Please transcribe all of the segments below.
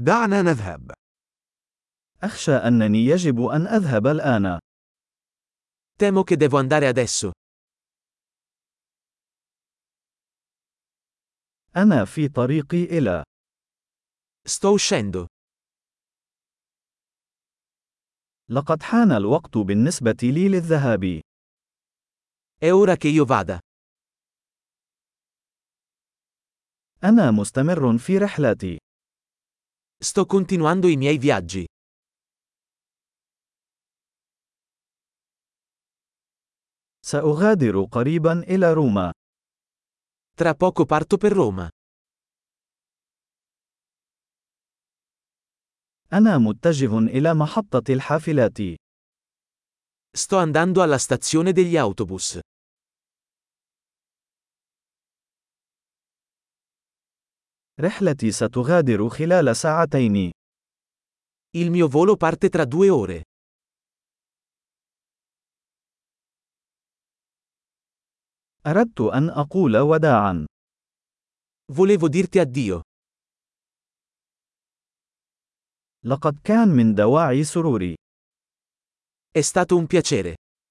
دعنا نذهب. أخشى أنني يجب أن أذهب الآن. Temo che devo andare adesso. أنا في طريقي إلى. Sto uscendo. لقد حان الوقت بالنسبة لي للذهاب. È ora che io vada. أنا مستمر في رحلتي. Sto continuando i miei viaggi. سأغادر قريبا إلى روما. Tra poco parto per Roma. أنا متجه إلى محطة الحافلات. Sto andando alla stazione degli autobus. رحلتي ستغادر خلال ساعتين. Il mio volo parte tra 2 ore. أردت أن أقول وداعا. Volevo dirti addio. لقد كان من دواعي سروري. È stato un piacere.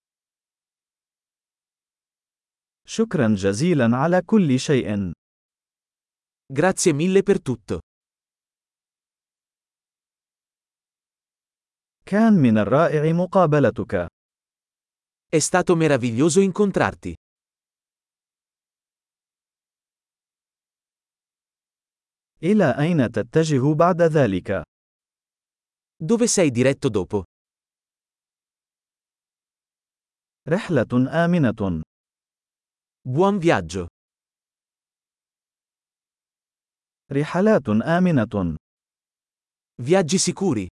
شكرا جزيلا على كل شيء. Grazie mille per tutto. كان من الرائع مقابلتك. È stato meraviglioso incontrarti. إلى أين تتجه بعد ذلك؟ Dove sei diretto dopo? رحلة آمنة. Buon viaggio. رحلات آمنة. Viaggi sicuri.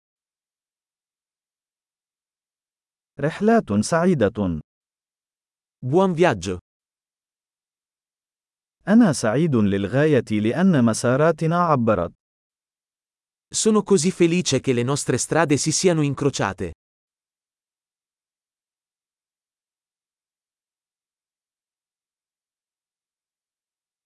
رحلات سعيدة. Buon viaggio. أنا سعيد للغاية لأن مساراتنا عبرت. Sono così felice che le nostre strade si siano incrociate.